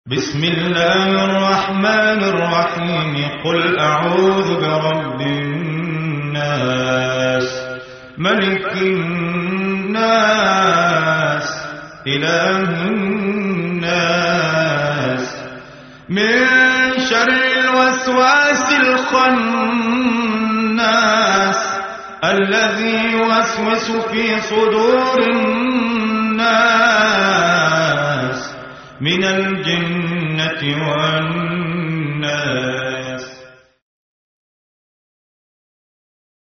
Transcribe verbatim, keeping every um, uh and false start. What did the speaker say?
بسم الله الرحمن الرحيم قل أعوذ برب الناس ملك الناس إله الناس من شر الوسواس الخناس الذي يوسوس في صدور الناس من الجنة والناس.